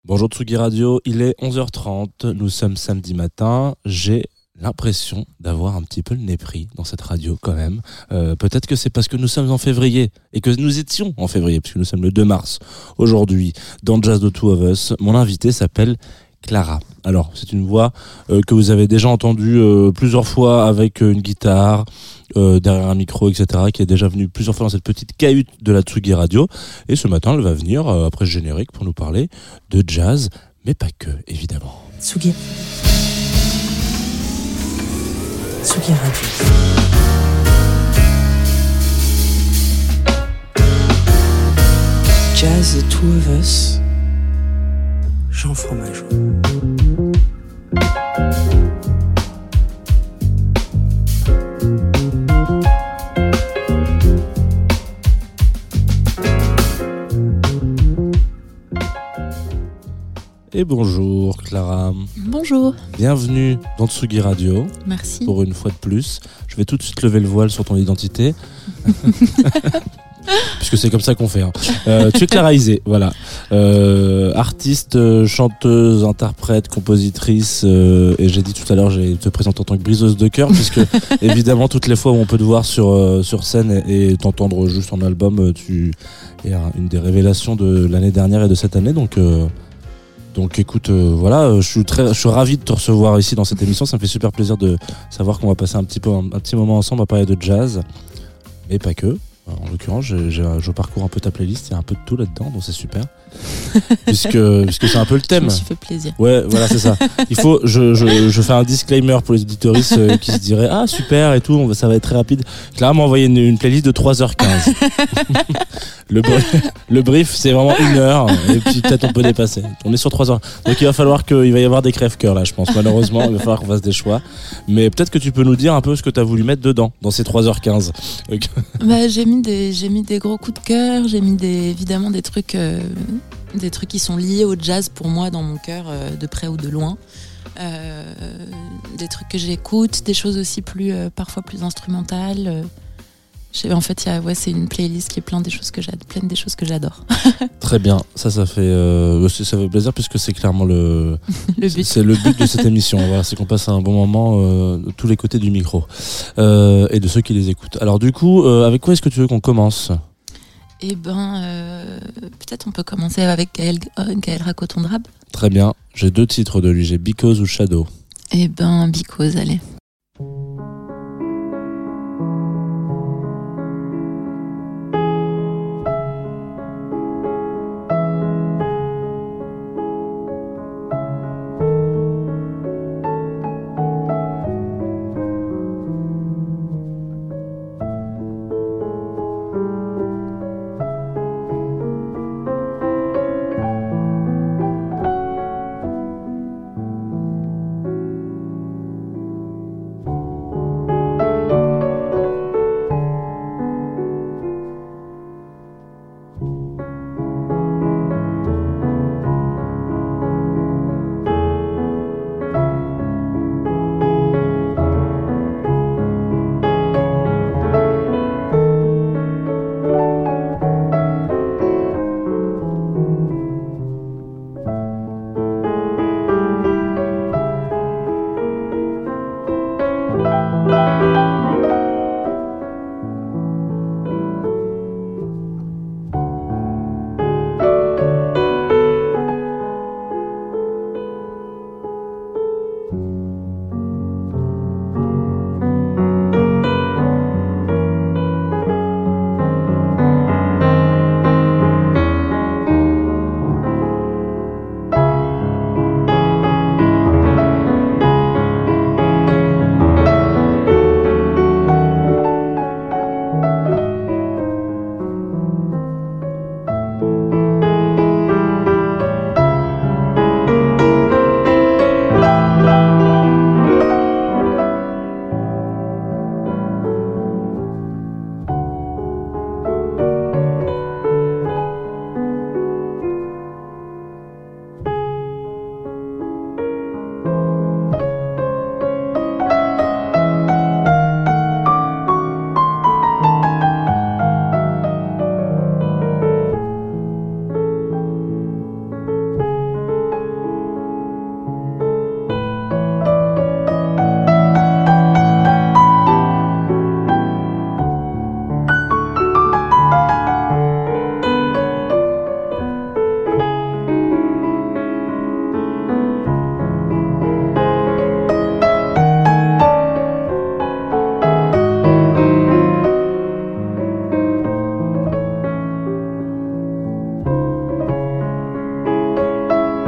Bonjour Tsugi Radio, il est 11h30, nous sommes samedi matin, j'ai l'impression d'avoir un petit peu le nez pris dans cette radio quand même. Peut-être que c'est parce que nous sommes en février et que nous étions en février, puisque nous sommes le 2 mars aujourd'hui dans Jazz The Two of Us. Mon invité s'appelle Clara. Alors, c'est une voix que vous avez déjà entendue plusieurs fois avec une guitare, derrière un micro, etc., qui est déjà venue plusieurs fois dans cette petite cahute de la Tsugi Radio. Et ce matin, elle va venir, après le générique, pour nous parler de jazz, mais pas que, évidemment. Tsugi. Tsugi Radio. Jazz The Two of Us. Jean Fromageau. Et bonjour Clara. Bonjour. Bienvenue dans Tsugi Radio. Merci. Pour une fois de plus. Je vais tout de suite lever le voile sur ton identité. Puisque c'est comme ça qu'on fait. Tu es Clara Isé, voilà. Artiste, chanteuse, interprète, compositrice. Et j'ai dit tout à l'heure, je te présente en tant que briseuse de cœur, puisque évidemment toutes les fois où on peut te voir sur scène et t'entendre juste en album, tu es une des révélations de l'année dernière et de cette année. Donc écoute, voilà, je suis ravi de te recevoir ici dans cette émission. Ça me fait super plaisir de savoir qu'on va passer un petit moment ensemble à parler de jazz, mais pas que. En l'occurrence, je parcours un peu ta playlist, il y a un peu de tout là-dedans, donc c'est super. puisque c'est un peu le thème. Je me suis fait plaisir. Ouais, voilà, c'est ça. Il faut, je fais un disclaimer pour les auditoristes qui se diraient ah super et tout, ça va être très rapide. Clara m'a envoyé une playlist de 3h15. Le brief, c'est vraiment 1 heure et puis peut-être on peut dépasser. On est sur 3 heures. Donc il va y avoir des crève-cœurs là, je pense. Malheureusement, il va falloir qu'on fasse des choix. Mais peut-être que tu peux nous dire un peu ce que tu as voulu mettre dedans dans ces 3h15. Bah, j'ai mis des gros coups de cœur, j'ai mis évidemment des trucs qui sont liés au jazz pour moi dans mon cœur, de près ou de loin. Des trucs que j'écoute, des choses aussi parfois plus instrumentales. En fait, c'est une playlist qui est pleine des choses que j'adore. Très bien, ça fait plaisir puisque c'est clairement le but. C'est le but de cette émission. Voilà, c'est qu'on passe un bon moment de tous les côtés du micro et de ceux qui les écoutent. Alors du coup, avec quoi est-ce que tu veux qu'on commence ? Eh ben, peut-être on peut commencer avec Gaël Racotondrab. Très bien, j'ai 2 titres de lui, j'ai Because ou Shadow. Eh ben, Because, allez.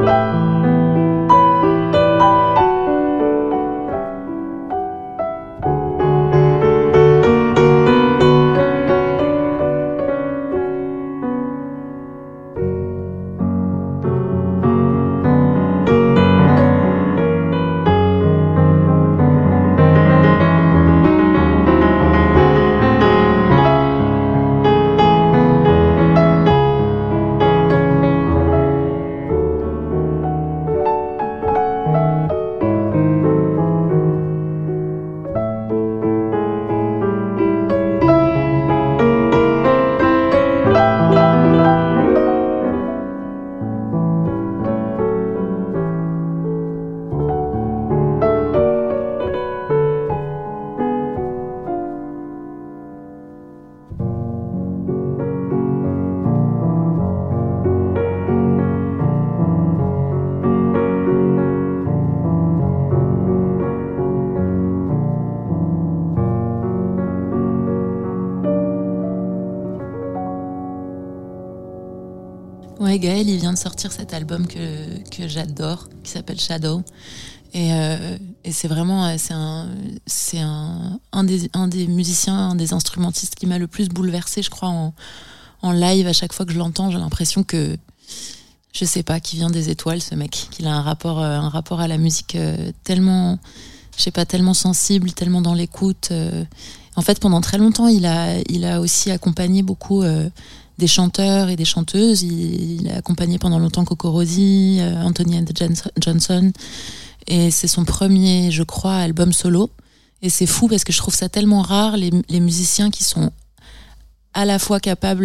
Ouais, Gaël, il vient de sortir cet album que j'adore, qui s'appelle Shadow. Et c'est vraiment c'est un des musiciens, un des instrumentistes qui m'a le plus bouleversée, je crois, en live. À chaque fois que je l'entends, j'ai l'impression que, je sais pas, qu'il vient des étoiles, ce mec, qu'il a un rapport à la musique tellement, je sais pas, tellement sensible, tellement dans l'écoute. En fait, pendant très longtemps, il a aussi accompagné beaucoup des chanteurs et des chanteuses. Il a accompagné pendant longtemps Coco Rosie, Anthony and Johnson. Et c'est son premier, je crois, album solo. Et c'est fou parce que je trouve ça tellement rare, les musiciens qui sont à la fois capables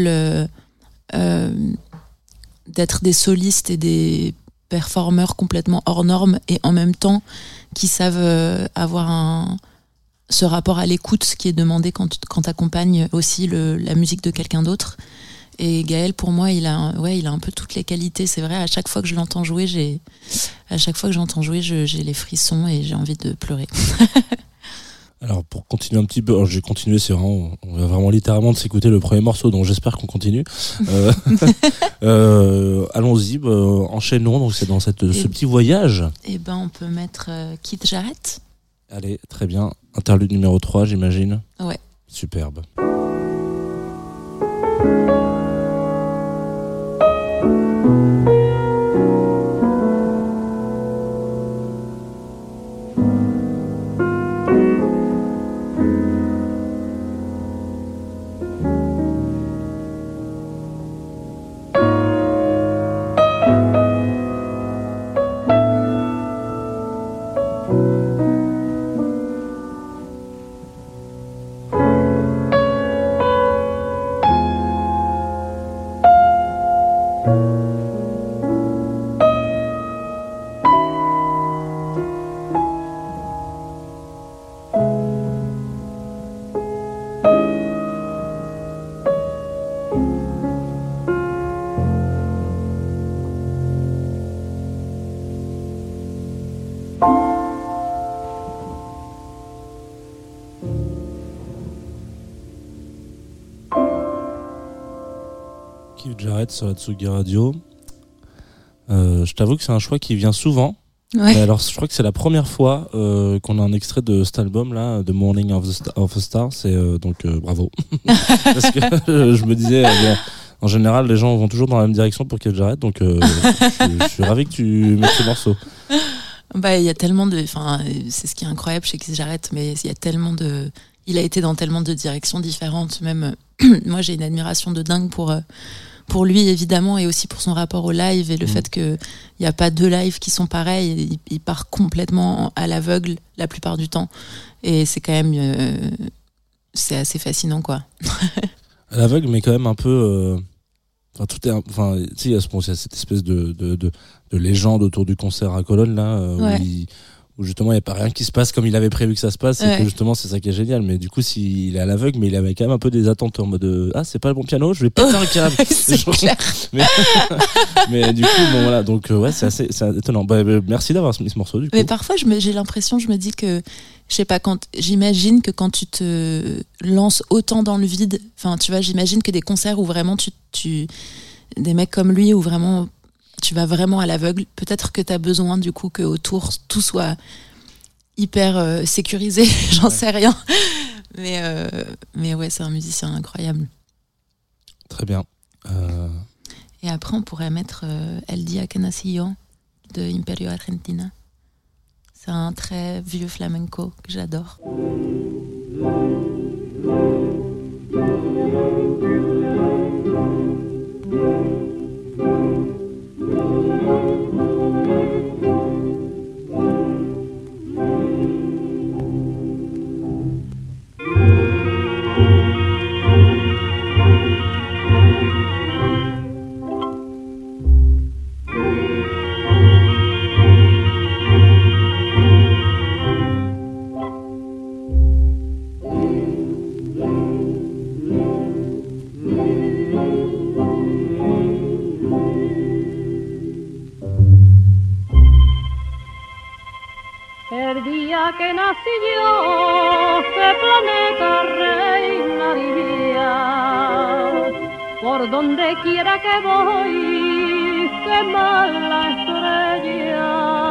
d'être des solistes et des performeurs complètement hors normes, et en même temps qui savent avoir ce rapport à l'écoute qui est demandé quand t'accompagnes aussi la musique de quelqu'un d'autre. Et Gaël, pour moi, il a un peu toutes les qualités. C'est vrai, à chaque fois que je l'entends jouer, j'ai les frissons et j'ai envie de pleurer. Alors, pour continuer un petit peu, j'ai continué, on va vraiment littéralement de s'écouter le premier morceau, donc j'espère qu'on continue. Allons-y, enchaînons. Donc c'est dans ce petit voyage. Eh ben, on peut mettre Keith Jarrett. Allez, très bien. Interlude numéro 3, j'imagine. Ouais. Superbe. Keith Jarrett sur la Tsugi Radio. Je t'avoue que c'est un choix qui vient souvent. Ouais. Mais alors, je crois que c'est la première fois qu'on a un extrait de cet album-là, The Morning of a Star. C'est donc bravo. Parce que je me disais, en général, les gens vont toujours dans la même direction pour Keith Jarrett, donc je suis ravi que tu mettes ce morceau. Bah, il y a tellement c'est ce qui est incroyable chez Keith Jarrett, mais il a été dans tellement de directions différentes. Même moi, j'ai une admiration de dingue pour lui, évidemment, et aussi pour son rapport au live et le fait qu'il n'y a pas deux lives qui sont pareils. Il part complètement à l'aveugle la plupart du temps. Et c'est quand même... c'est assez fascinant, quoi. À l'aveugle, mais quand même un peu... il y a cette espèce de légende autour du concert à Cologne, là, ouais. où justement il n'y a pas rien qui se passe comme il avait prévu que ça se passe, et que justement c'est ça qui est génial. Mais du coup, s'il est à l'aveugle, mais il avait quand même un peu des attentes en mode c'est pas le bon piano, je vais péter un câble. C'est clair. mais du coup, bon voilà, donc c'est étonnant. Merci d'avoir mis ce morceau, du coup. Mais parfois j'ai l'impression, je me dis que, je sais pas, j'imagine que quand tu te lances autant dans le vide, enfin tu vois, j'imagine que des concerts où vraiment des mecs comme lui, où vraiment tu vas vraiment à l'aveugle. Peut-être que t'as besoin du coup que autour tout soit hyper sécurisé, j'en sais rien. Mais ouais, c'est un musicien incroyable. Très bien. Et après, on pourrait mettre El Día que Nací Yo de Imperio Argentina. C'est un très vieux flamenco que j'adore. El día que nací yo, ¿qué planeta reinaría? Por donde quiera que voy, qué mala estrella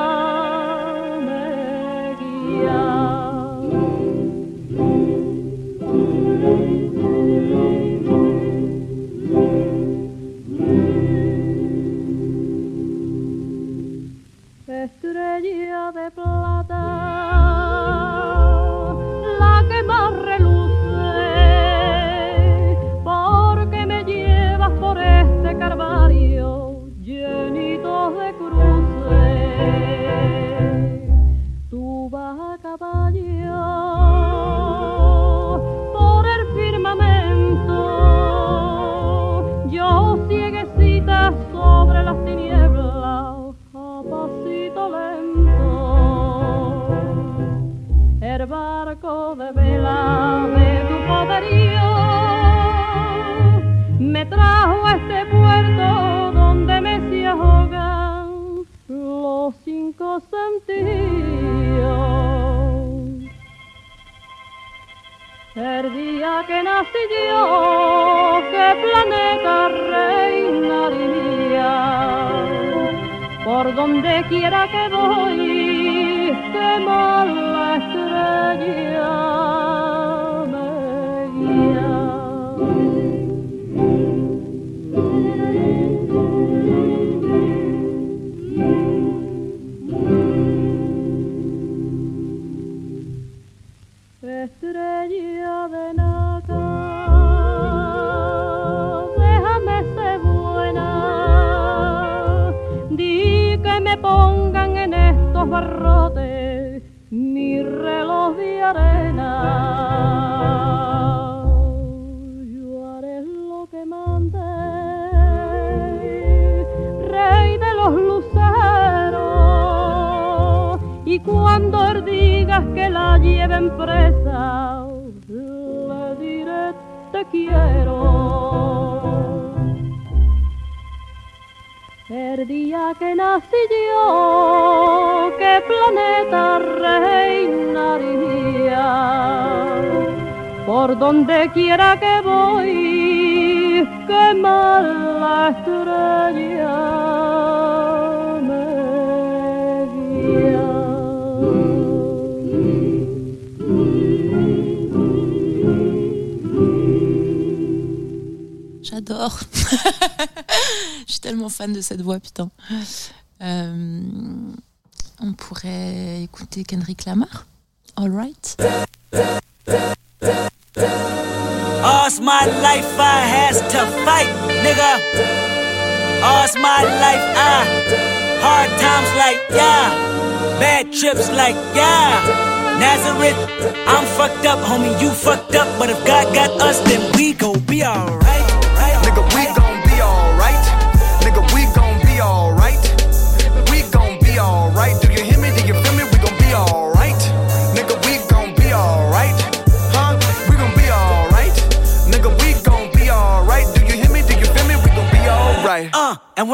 me guía. Estrella de plata, la que más reluce, porque me llevas por este calvario llenito de cruces. Tú vas a caballo por el firmamento, yo cieguecita sobre las tinieblas. Pasito lento, el barco de vela de tu poderío me trajo a este puerto donde me se ahogan los 5 sentidos. El día que nací yo, ¿qué planeta reinaría? Por donde quiera que voy, qué mala estrella me guía. Estrella de nata, déjame ser buena. Di que me pongan en estos barrotes mi reloj de arena. Yo haré lo que mande, rey de los luceros, y cuando él digas que la lleven presa, le diré te quiero. El día que nací yo, ¿qué planeta reinaría? Por donde quiera que voy, qué mala estrella me guía. J'adore. Je suis tellement fan de cette voix, putain. On pourrait écouter Kendrick Lamar. All right. All's my life I has to fight, nigga. All's my life hard times like yeah, bad trips like yeah. Nazareth, I'm fucked up, homie, you fucked up, but if God got us, then we gon' be alright. Nigga, we gon' be alright. Nigga, we gon' be alright. We gon' be alright. Do you hear me? Do you feel me? We gon' be alright. Nigga, we gon' be alright. Huh? We gon' be alright. Nigga, we gon' be alright. Do you hear me? Do you feel me? We gon' be alright. And when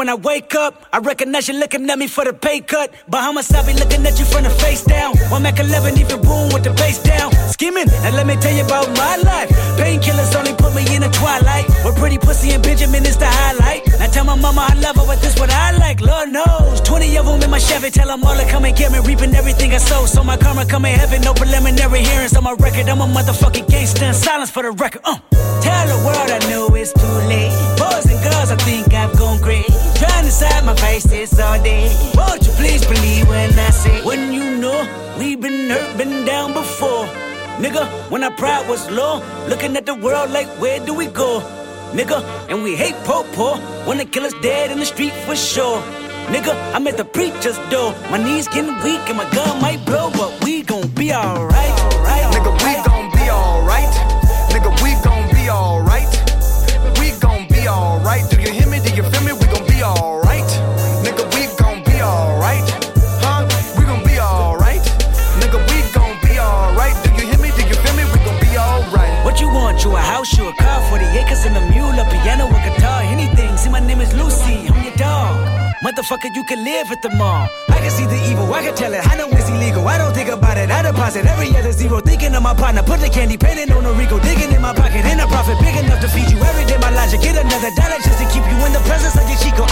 when I wake up, I recognize you looking at me for the pay cut. Bahamas, I be looking at you from the face down. One Mac 11, even boom with the bass down. Skimming, and let me tell you about my life. Painkillers only put me in the twilight. With pretty pussy and Benjamin is the highlight. Now tell my mama I love her, but this what I like. Lord knows, 20 of them in my Chevy. Tell them all to come and get me, reaping everything I sow. So my karma come in heaven, no preliminary hearings on my record. I'm a motherfucking gangster in silence for the record. Tell the world I know it's too late. Boys and girls, I think I've gone great. Trying to side my face this all day. Won't you please believe when I say, when you know we've been hurt, been down before. Nigga, when our pride was low, looking at the world like where do we go? Nigga, and we hate po-po, wanna kill us dead in the street for sure. Nigga, I'm at the preacher's door. My knees getting weak and my gun might blow, but we gon' be alright. Nigga, we gon' be alright. Nigga, we gon' be alright. We gon' be alright. Do you hear me? Do you feel me? We gon' be alright. Nigga, we gon' be alright. Huh? We gon' be alright. Nigga, we gon' be alright. Do you hear me? Do you feel me? We gon' be alright. What you want? You a house, you a car, 40 acres and a mule, a piano, a guitar, anything. See, my name is Lucy, I'm your dog. Motherfucker, you can live at the mall. I can see the evil, I can tell it. I know it's illegal, I don't think about it. I deposit every other zero, thinking of my partner. Put the candy, painting on a Rico, digging in my pocket. In a profit big enough to feed you every day. My logic, get another dollar just to keep you in the presence of your Chico.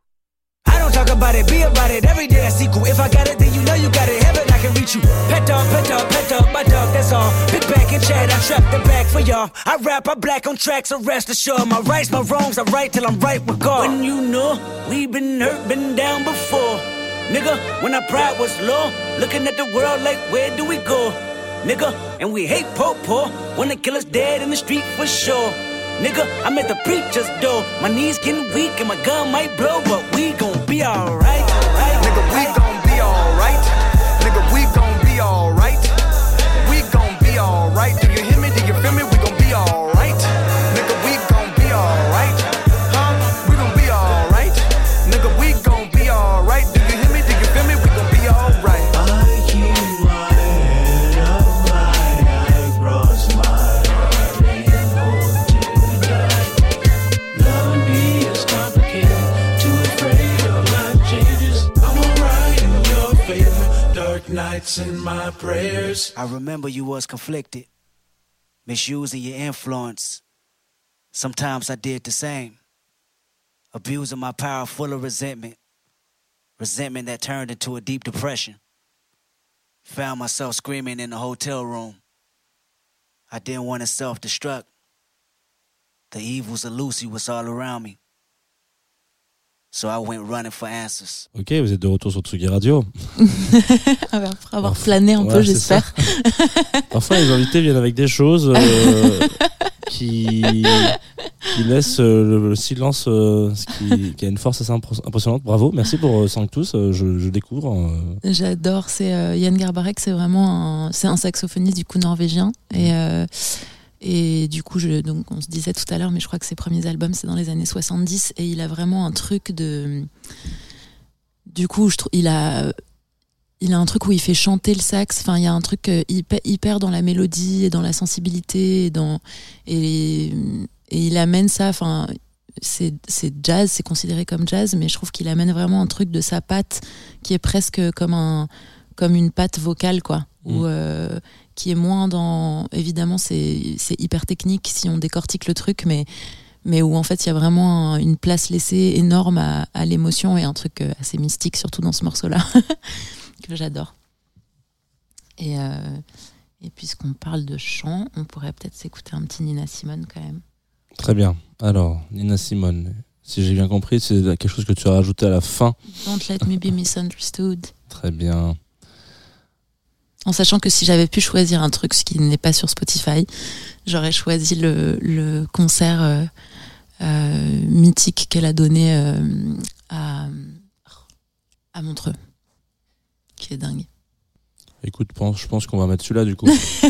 I don't talk about it, be about it. Every day I sequel. If I got it, then you know you got it. Heaven, I can reach you. Pet dog, my dog, that's all. Big back and chat, I trap the back for y'all. I rap, I black on tracks, so rest assured. My rights, my wrongs, I right till I'm right with God. When you know we've been hurt, been down before. Nigga, when our pride was low, looking at the world like where do we go? Nigga, and we hate po-po, wanna kill us dead in the street for sure. Nigga, I'm at the preacher's door. My knees getting weak and my gun might blow, but we gon' be alright. Nigga, we gon' be alright. Nigga, we gon' be alright. We gon' be alright. Do you hear me? Do you feel me? We gon' be alright. Nigga, we gon' be alright. Huh? We gon' be alright. Nigga, we gon' be alright. Do you hear me? Do you feel me? We gon' be alright. I keep my head up high, I cross my heart and hope to die. Loving me is complicated, too afraid of life changes. I'm alright in your favor, dark nights in my prayers. I remember you was conflicted, misusing your influence. Sometimes I did the same, abusing my power full of resentment that turned into a deep depression. Found myself screaming in the hotel room. I didn't want to self-destruct. The evils of Lucy was all around me. So I went running for answers. Ok, vous êtes de retour sur Tsugi Radio. Après avoir plané un peu, j'espère. Parfois, les invités viennent avec des choses qui laissent le silence, qui a une force assez impressionnante. Bravo, merci pour Sanctus. Je découvre. J'adore. C'est Yann Garbarek, c'est vraiment c'est un saxophoniste du coup norvégien et du coup donc on se disait tout à l'heure, mais je crois que ses premiers albums c'est dans les années 70 et il a vraiment un truc de. Du coup, il a un truc où il fait chanter le sax. Enfin, il y a un truc hyper dans la mélodie et dans la sensibilité et il amène ça. Enfin, c'est jazz, c'est considéré comme jazz, mais je trouve qu'il amène vraiment un truc de sa patte qui est presque comme une patte vocale, quoi. Qui est moins dans. Évidemment, c'est hyper technique si on décortique le truc, mais où en fait il y a vraiment une place laissée énorme à l'émotion et un truc assez mystique, surtout dans ce morceau-là. Que j'adore. Et puisqu'on parle de chant, on pourrait peut-être s'écouter un petit Nina Simone quand même. Très bien. Alors, Nina Simone, si j'ai bien compris, c'est quelque chose que tu as rajouté à la fin. Don't let me be misunderstood. Très bien. En sachant que si j'avais pu choisir un truc, ce qui n'est pas sur Spotify, j'aurais choisi le concert mythique qu'elle a donné à Montreux. Qui est dingue. Écoute, je pense qu'on va mettre celui-là du coup.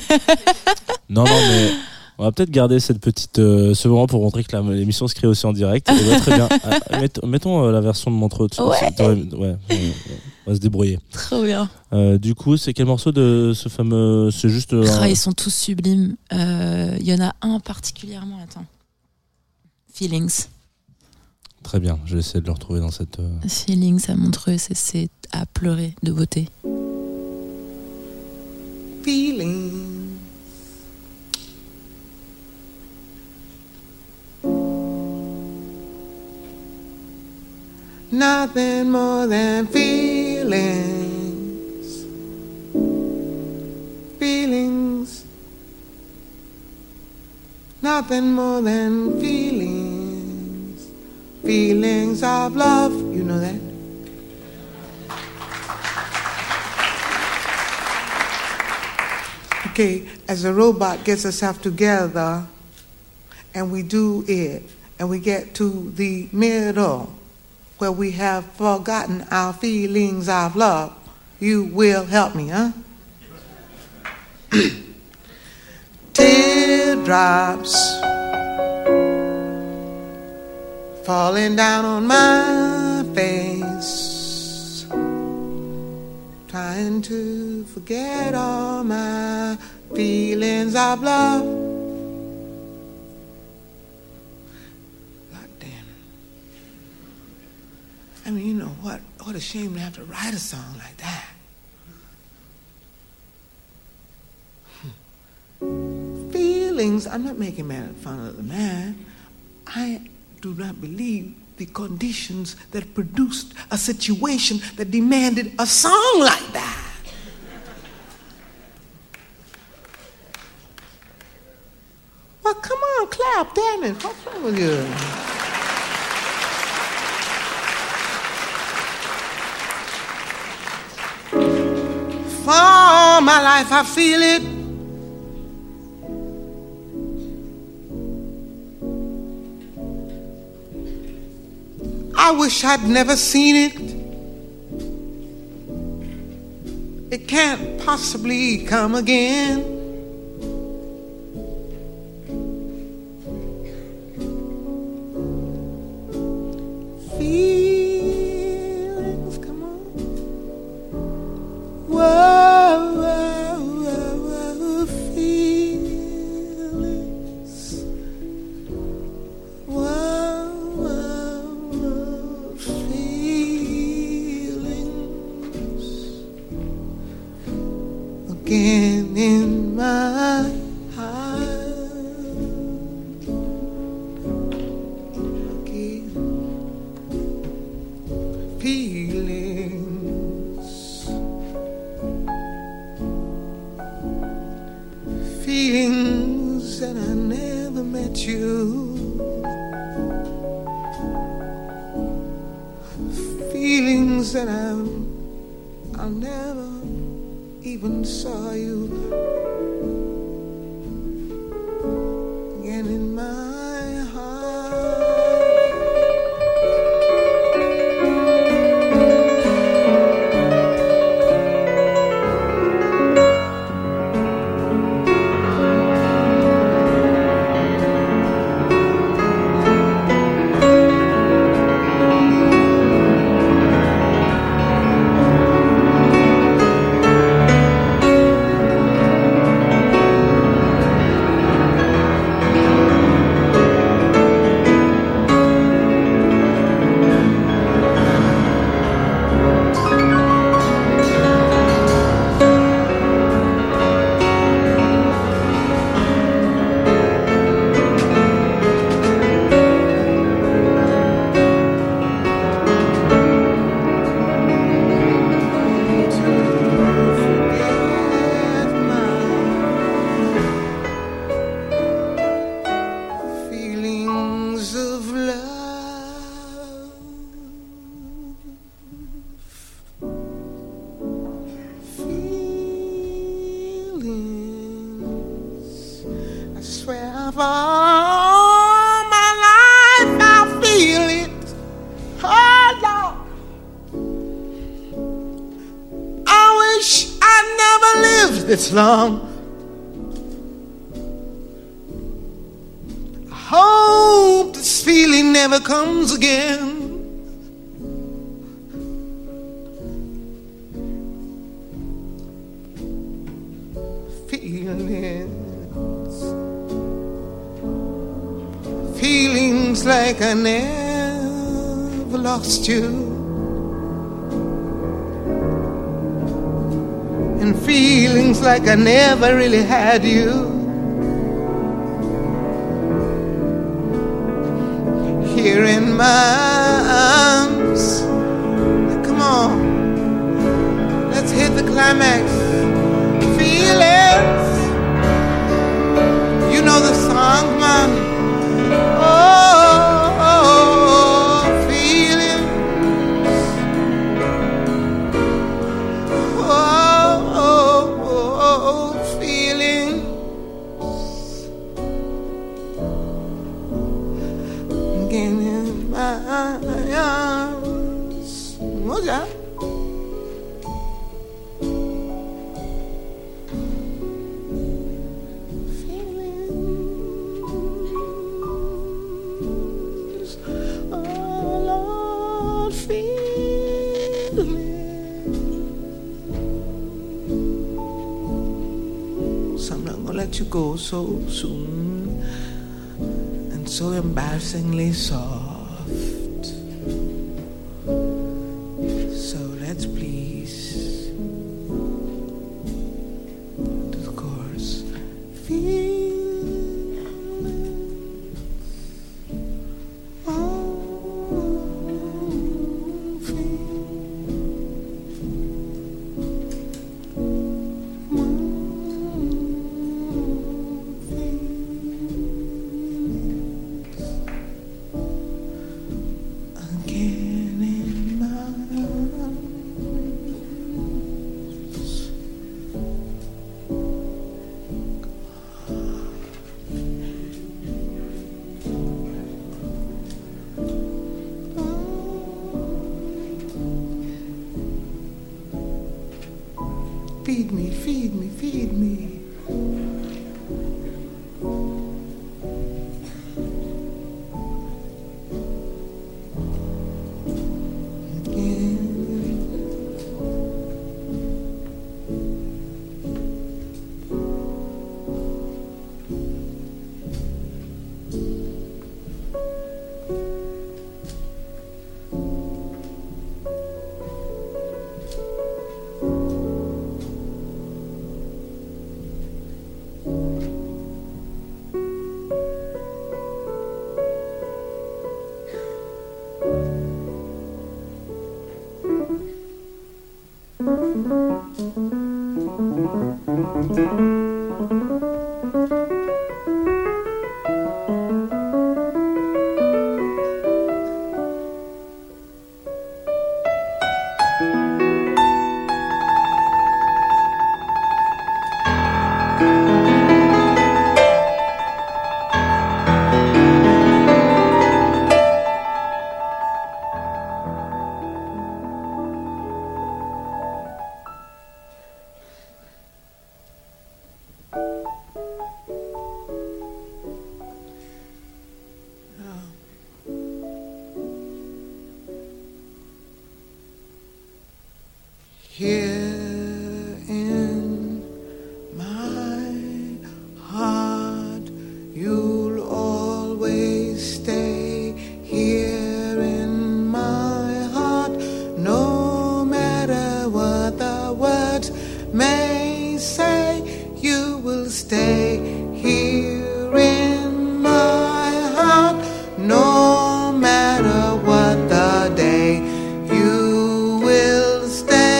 non, mais on va peut-être garder cette petite ce moment pour montrer que l'émission se crée aussi en direct. Et ouais, très bien. Mettons la version de Montreux. Ouais, on va se débrouiller. Trop bien. Du coup, c'est quel morceau de ce fameux. C'est juste. Ils sont tous sublimes. Il y en a un particulièrement. Attends. Feelings. Très bien, je vais essayer de le retrouver dans cette... Feelings à Montreux, c'est à pleurer de beauté. Feeling. Nothing more than feelings. Feelings. Nothing more than feelings. Feelings of love. You know that? Okay, as a robot gets itself together and we do it and we get to the middle where we have forgotten our feelings of love, you will help me, huh? Teardrops falling down on my face, trying to forget all my feelings of love. God damn. I mean, you know what? What a shame to have to write a song like that. Feelings, I'm not making fun of the man. I do not believe the conditions that produced a situation that demanded a song like that. Well, come on, clap, damn it. What's wrong with you? For all my life I feel it. I wish I'd never seen it. It can't possibly come again. Feelings, come on. Whoa, whoa, whoa, whoa, feelings. Whoa, whoa, feelings. Again in my heart. Again. Feelings. Feelings that I never met you. Feelings that I never even saw you. Again in my heart. Feelings of love. Feelings. I swear for all my life I feel it. Oh Lord. I wish I never lived this long. Hope this feeling never comes again. Feelings like I never I've lost you, and feelings like I never really had you. Here in my arms, come on, let's hit the climax. Feelings, you know the song, man. You go so soon and so embarrassingly soft. So let's please do the chorus. Feed me, feed me, feed me. Here in my heart, you'll always stay. Here in my heart, no matter what the words may say, you will stay. Here in my heart, no matter what the day, you will stay.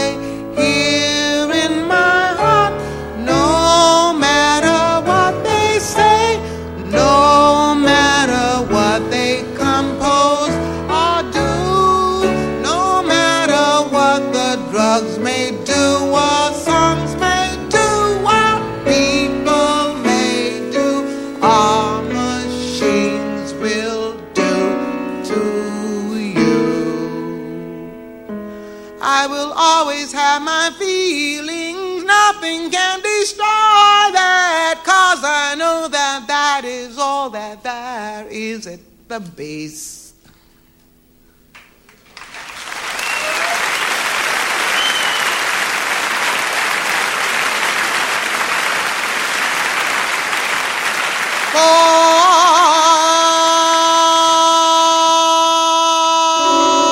Drugs may do what songs may do, what people may do, our machines will do to you. I will always have my feelings, nothing can destroy that, 'cause I know that that is all that there is at the base. Oh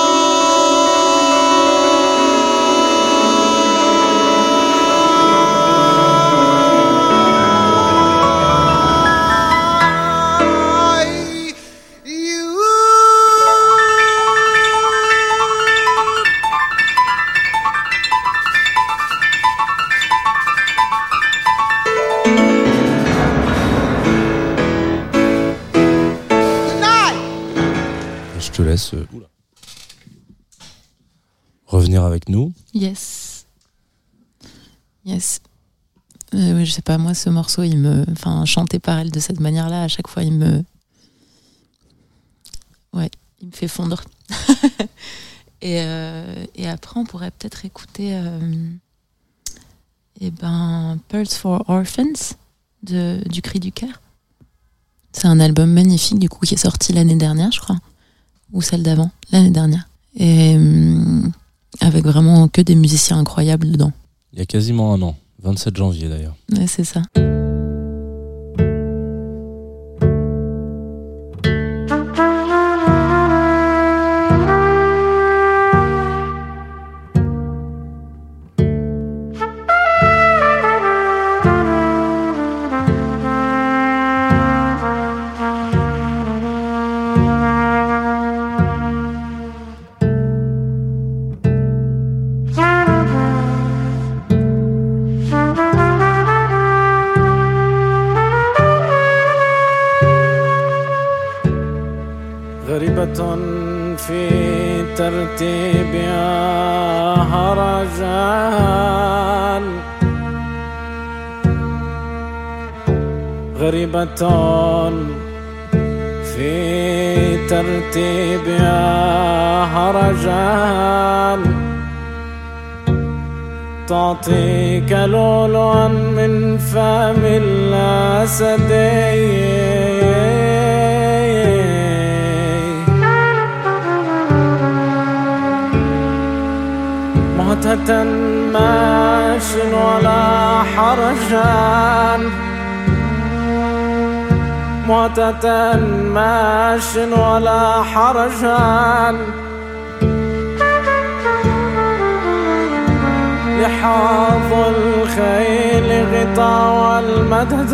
laisse revenir avec nous. Yes. Oui, je sais pas, moi, ce morceau, chanté par elle de cette manière-là, à chaque fois, il me fait fondre. et après, on pourrait peut-être écouter Pearls for Orphans du Cri du Cœur. C'est un album magnifique, du coup, qui est sorti l'année dernière, je crois. Ou celle d'avant, l'année dernière. Et avec vraiment que des musiciens incroyables dedans. Il y a quasiment un an, 27 janvier d'ailleurs. Ouais, c'est ça. غريبة في ترتيبها هرجان غريبة في ترتيبها هرجان تعطيك لؤلؤا من فم الأسدين مهتة ماش ولا حرجان مهتة ماش ولا حرجان لحاظ الخيل غطاء والمدد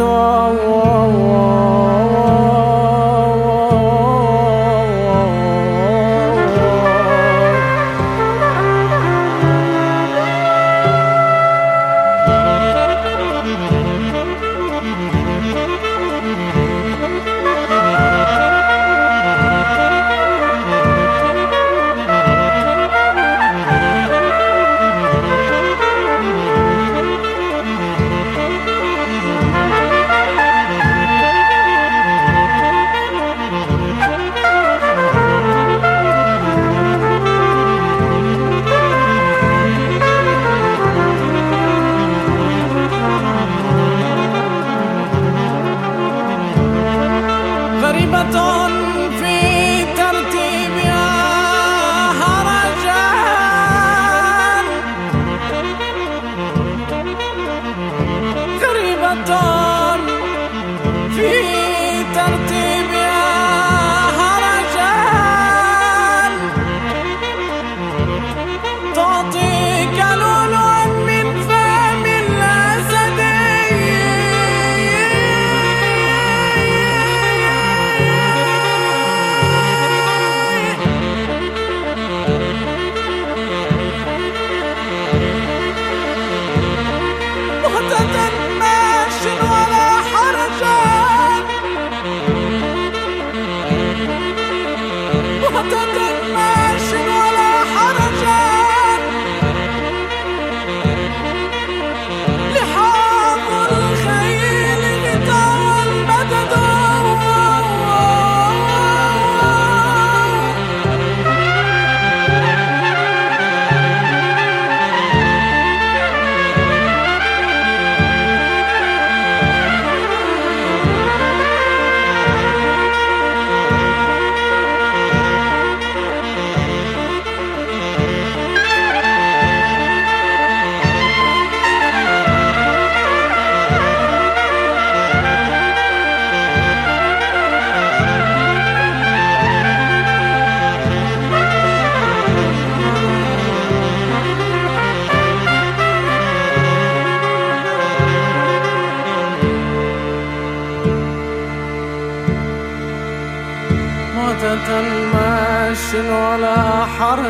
ولا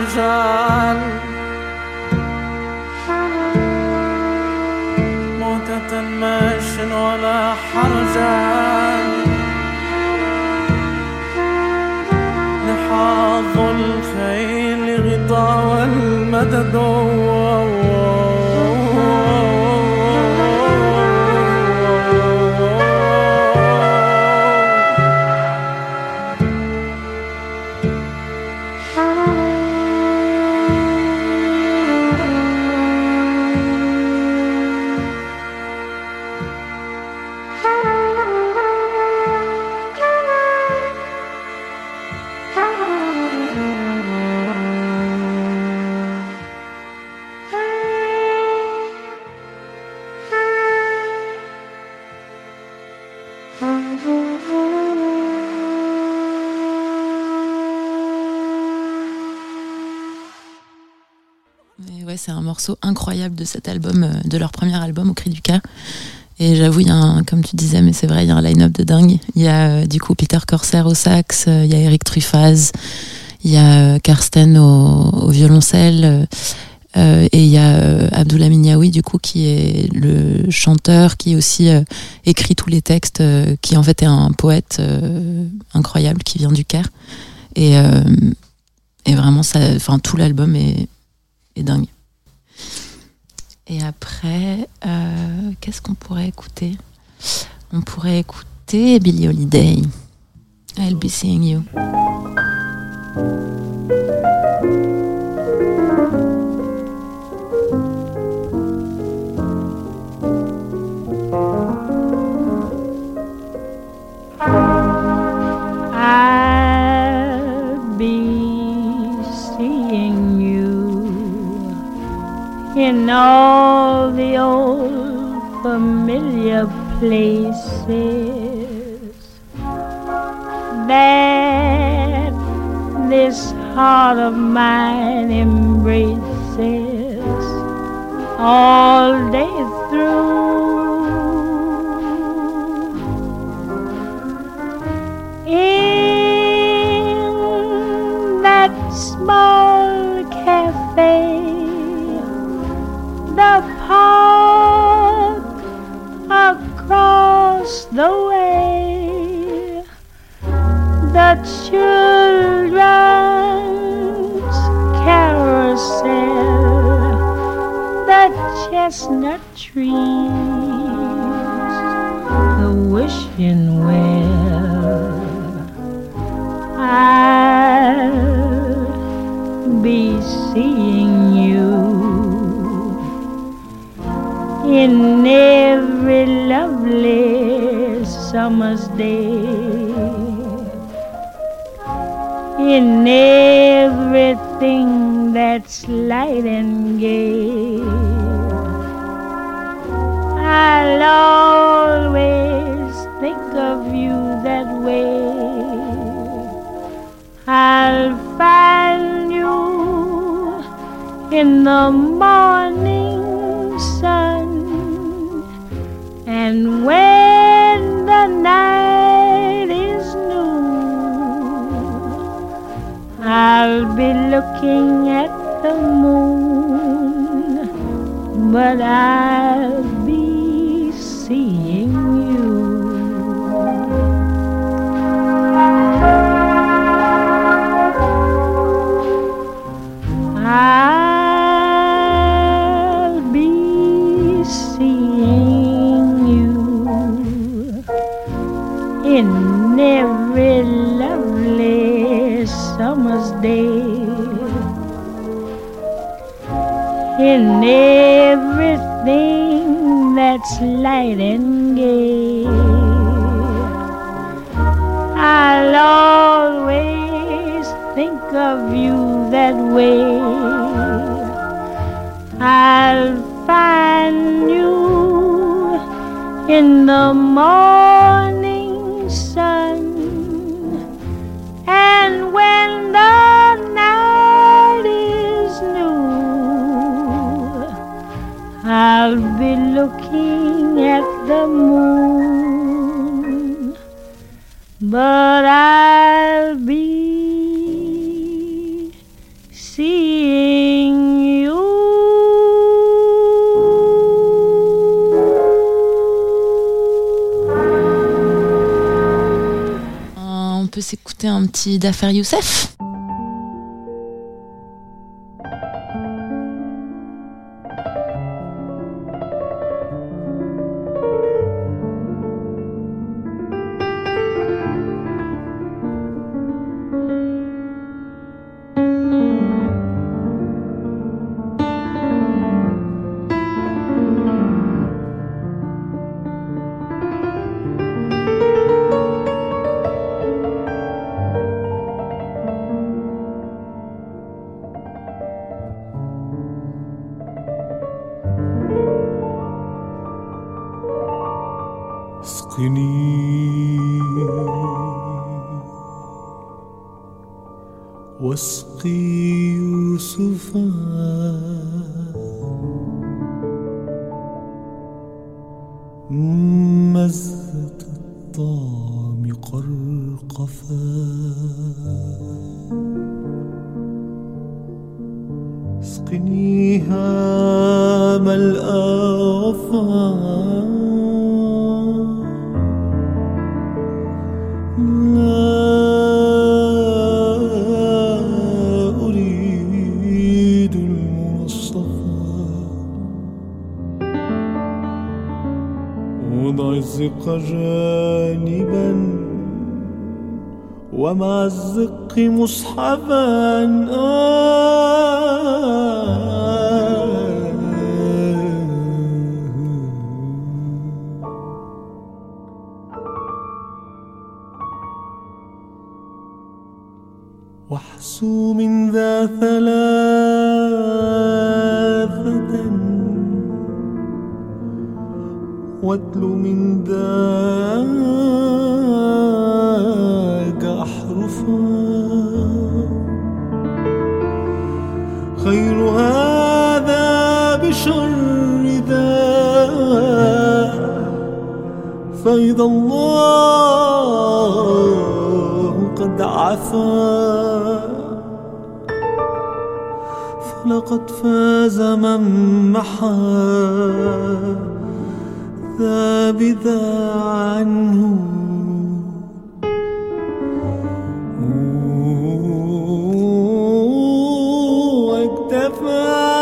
حرجان موتة ماش ولا حرجان لحاظ والمدد Et ouais, c'est un morceau incroyable de cet album, de leur premier album, Au Cri du Cœur. Et j'avoue, il y a comme tu disais, mais c'est vrai, il y a un line-up de dingue. Il y a du coup Peter Corsair au sax, il y a Eric Truffaz, il y a Karsten au violoncelle, et il y a Abdoulaye Niaoui du coup qui est le chanteur, qui aussi écrit tous les textes, qui en fait est un poète incroyable qui vient du Caire. Et vraiment, tout l'album est dingue. Et après, qu'est-ce qu'on pourrait écouter ? On pourrait écouter Billie Holiday, I'll Be Seeing You. I'll be seeing you in all the old familiar places that this heart of mine embraces all day through. In that small cafe, the park across the way, the children's carousel, the chestnut trees, the wishing well. I'll be seeing you in every lovely summer's day, in everything that's light and gay. I'll always think of you that way. I'll find you in the morning sun, and when the night is new, I'll be looking at the moon, but I'll be seeing you. I'll be seeing you in every lovely summer's day, in everything that's light and gay. I'll always think of you that way. I'll find you in the morning sun, and when the night is new, I'll be looking at the moon, but I'll be seeing you. On peut s'écouter un petit d'Affaire Youssef. واسقي يوسفا مزة الطعم قرقفا اسقنيها ملأ وفا الزق جانبا ومع الزق مصحبا واحسو من ذا ثلاثة واتل من ذاك أحرفا خير هذا بشر ذا فإذا الله قد عفا فلقد فاز من محا ذا بذا عنه واكتفى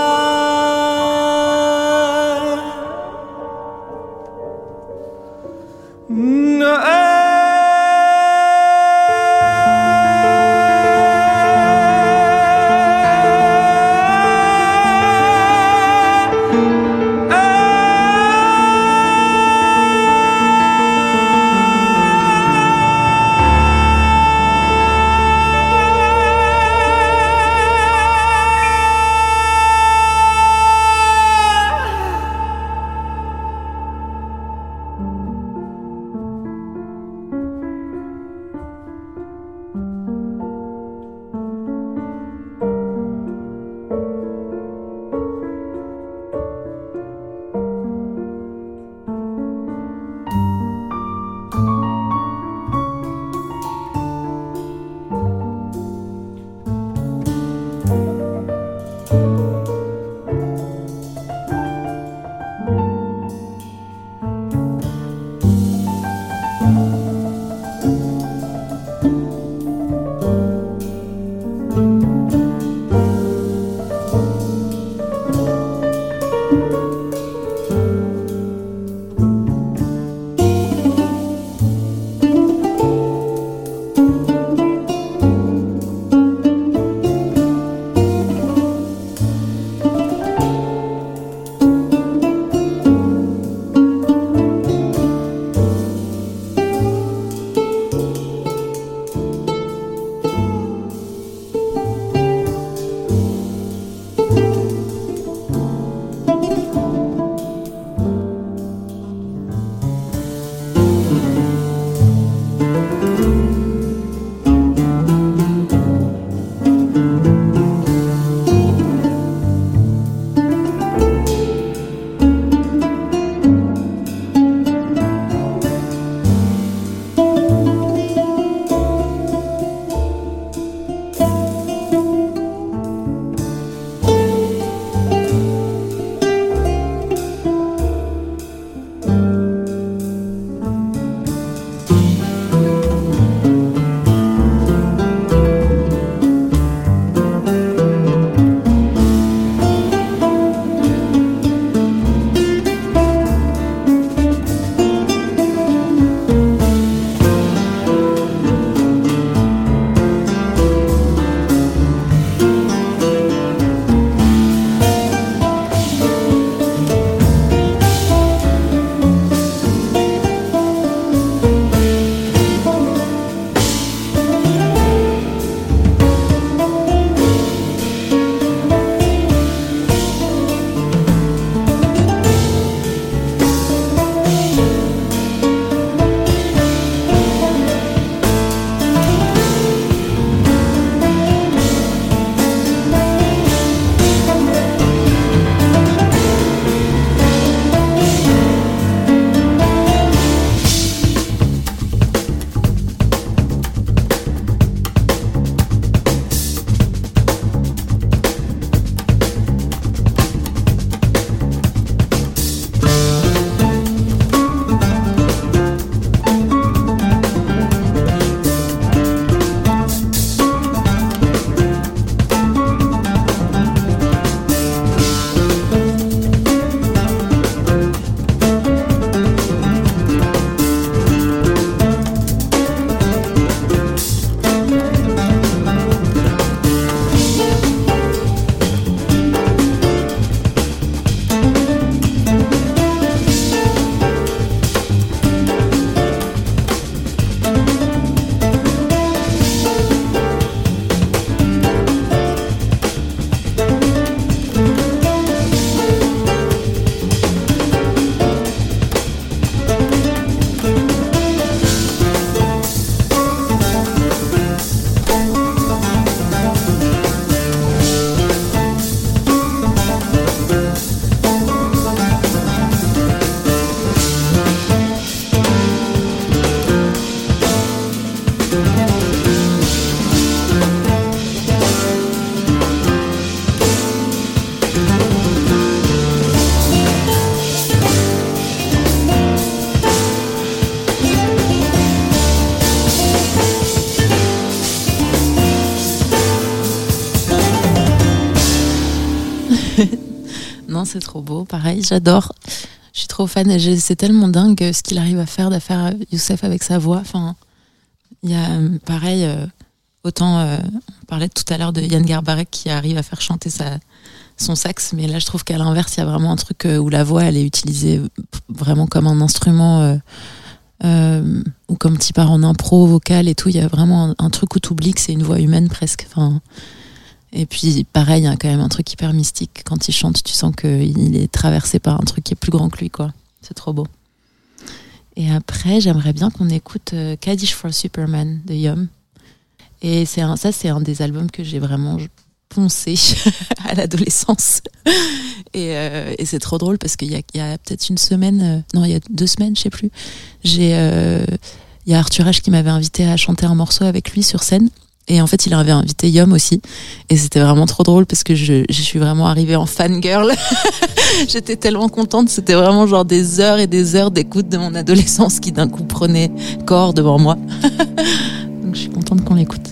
Non, c'est trop beau. Pareil, j'adore. Je suis trop fan. C'est tellement dingue ce qu'il arrive à faire, Youssef avec sa voix. Enfin, il y a pareil. Autant on parlait tout à l'heure de Yann Garbarek qui arrive à faire chanter son sax, mais là je trouve qu'à l'inverse il y a vraiment un truc où la voix elle est utilisée vraiment comme un instrument ou comme tu pars en impro vocal et tout. Il y a vraiment un truc où t'oublies que c'est une voix humaine presque. Enfin, et puis pareil, il y a quand même un truc hyper mystique quand il chante. Tu sens qu'il est traversé par un truc qui est plus grand que lui, quoi. C'est trop beau. Et après, j'aimerais bien qu'on écoute Kaddish for Superman de Yom. Et c'est un des albums que j'ai vraiment poncé à l'adolescence. Et c'est trop drôle parce qu'il y a peut-être une semaine, non, il y a 2 semaines, je sais plus. Il y a Arthur H qui m'avait invité à chanter un morceau avec lui sur scène. Et en fait, il avait invité Yom aussi. Et c'était vraiment trop drôle parce que je suis vraiment arrivée en fangirl. J'étais tellement contente. C'était vraiment genre des heures et des heures d'écoute de mon adolescence qui d'un coup prenait corps devant moi. Donc je suis contente qu'on l'écoute.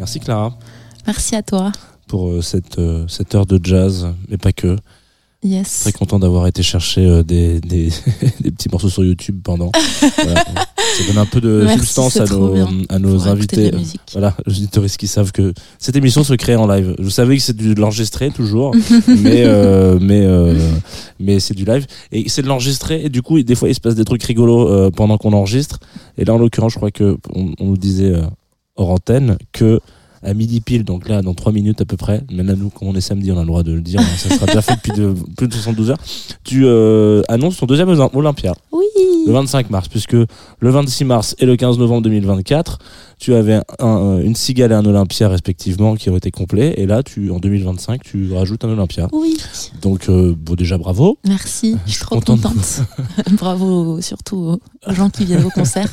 Merci Clara Merci à toi. pour cette heure de jazz, mais pas que. Yes. Très content d'avoir été chercher des petits morceaux sur YouTube pendant. Voilà. Ça donne un peu de Merci, substance c'est à trop bien. nos Pour écouter invités. de la musique. Voilà, les auditeurs qui savent que cette émission se crée en live. Je savais que c'est de l'enregistrer toujours, mais c'est du live et c'est de l'enregistrer et du coup des fois il se passe des trucs rigolos pendant qu'on enregistre. Et là en l'occurrence je crois que on nous disait hors antenne que à midi pile, donc là dans 3 minutes à peu près, mais là nous comme on est samedi on a le droit de le dire, hein, ça sera déjà fait depuis plus de 72 heures, tu annonces ton deuxième Olympia. Oui. Le 25 mars, puisque le 26 mars et le 15 novembre 2024, tu avais une cigale et un Olympia respectivement qui ont été complets, et là en 2025 tu rajoutes un Olympia. Oui. Donc bon déjà bravo. Merci, je suis trop contente. contente. Bravo surtout aux gens qui viennent au concert.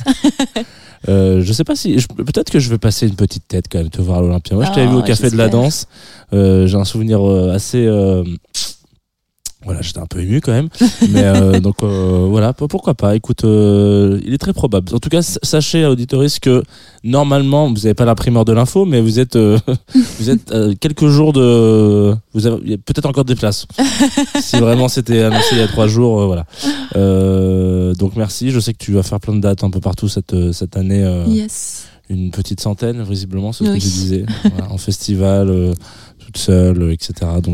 Je sais pas si peut-être que je vais passer une petite tête quand même te voir à l'Olympia. Moi je t'avais vu au café de la j'espère. danse. J'ai un souvenir assez voilà, j'étais un peu ému quand même, mais donc voilà, pourquoi pas. Écoute, il est très probable. En tout cas, sachez auditoris que normalement vous n'avez pas la primeur de l'info, mais vous êtes quelques jours il y a peut-être encore des places. Si vraiment c'était annoncé il y a 3 jours, voilà. Donc merci. Je sais que tu vas faire plein de dates un peu partout cette année. Yes. Une petite centaine, visiblement, c'est ce Oui. que tu disais, voilà, en festival, toute seule, etc. Donc,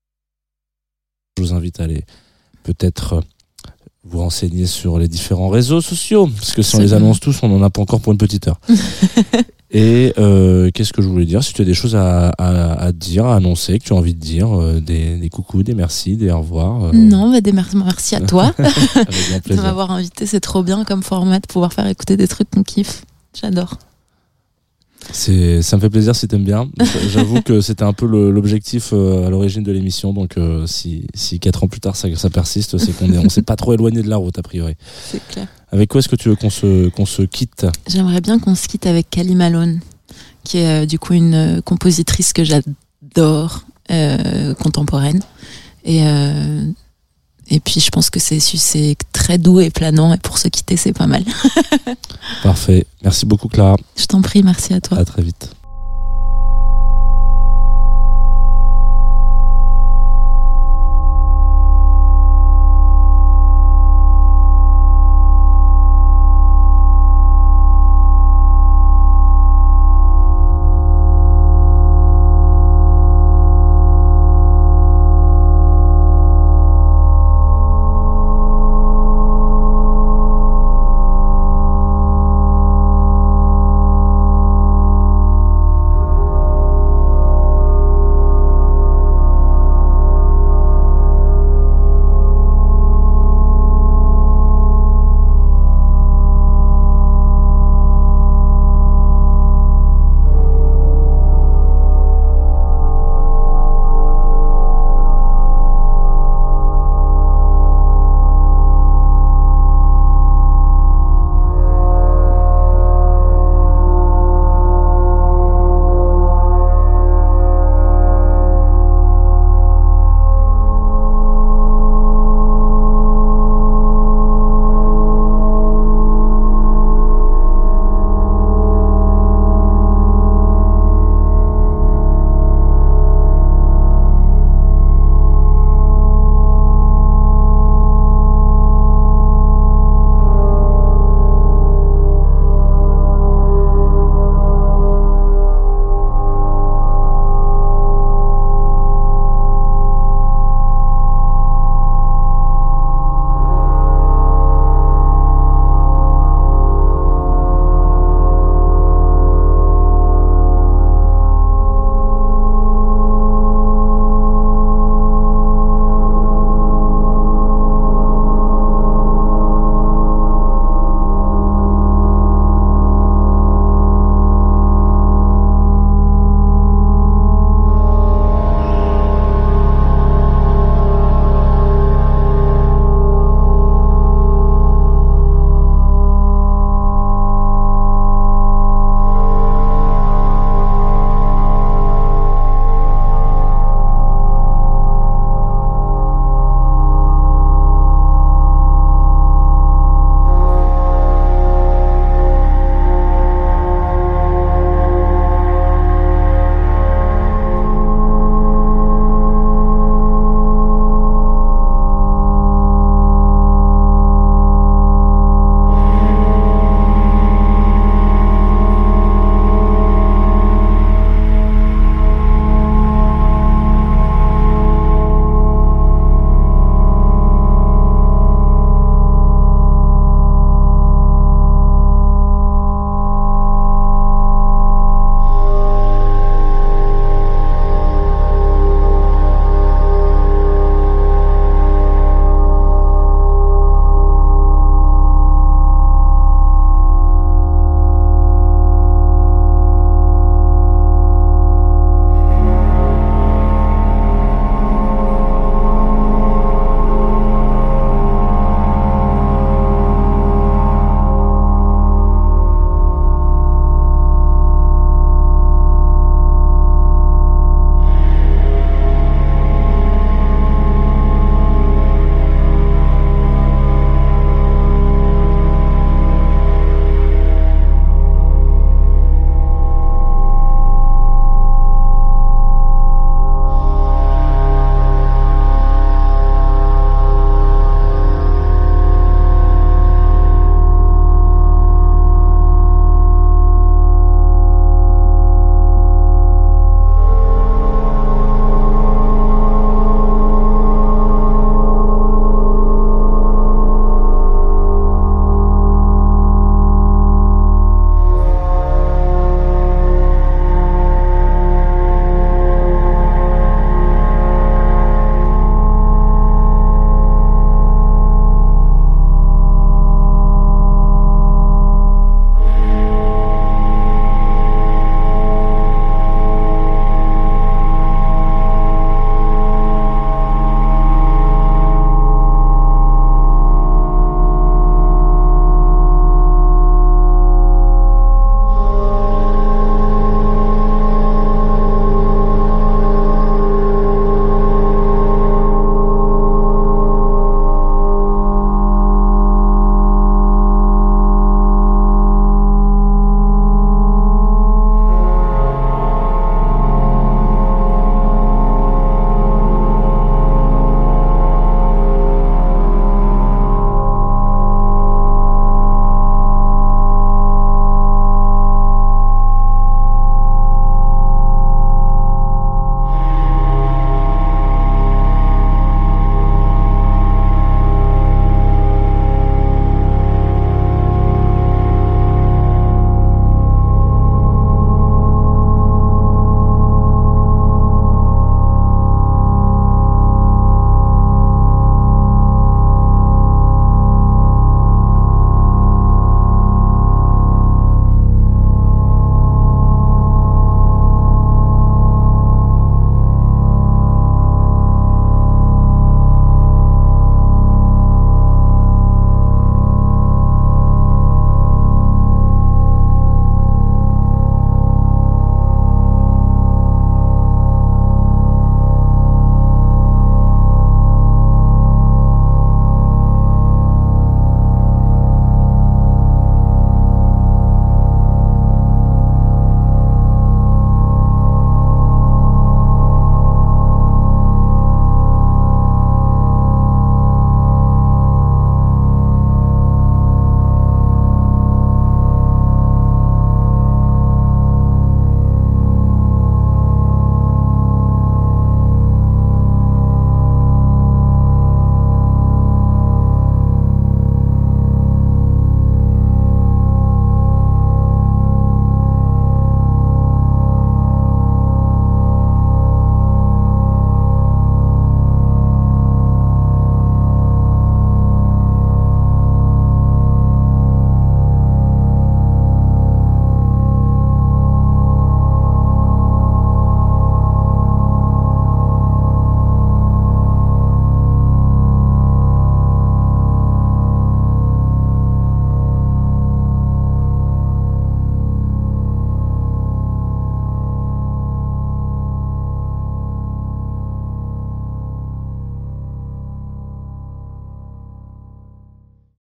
je vous invite à aller peut-être vous renseigner sur les différents réseaux sociaux, parce que si on les annonce tous, on n'en a pas encore pour une petite heure. Et qu'est-ce que je voulais dire? Si tu as des choses à dire, à annoncer, que tu as envie de dire, des coucous, des merci, des au revoir. Non, merci à toi Avec grand de plaisir. m'avoir invité. C'est trop bien comme format de pouvoir faire écouter des trucs qu'on kiffe. J'adore. Ça me fait plaisir si t'aimes bien. J'avoue que c'était un peu l'objectif à l'origine de l'émission, donc si 4 ans plus tard ça persiste, c'est on s'est pas trop éloigné de la route a priori. C'est clair. Avec quoi est-ce que tu veux qu'on se quitte? J'aimerais bien qu'on se quitte avec Kali Malone, qui est du coup une compositrice que j'adore, contemporaine. Et puis je pense que c'est très doux et planant, et pour se quitter c'est pas mal. Parfait. Merci beaucoup Clara. Je t'en prie, merci à toi. À très vite.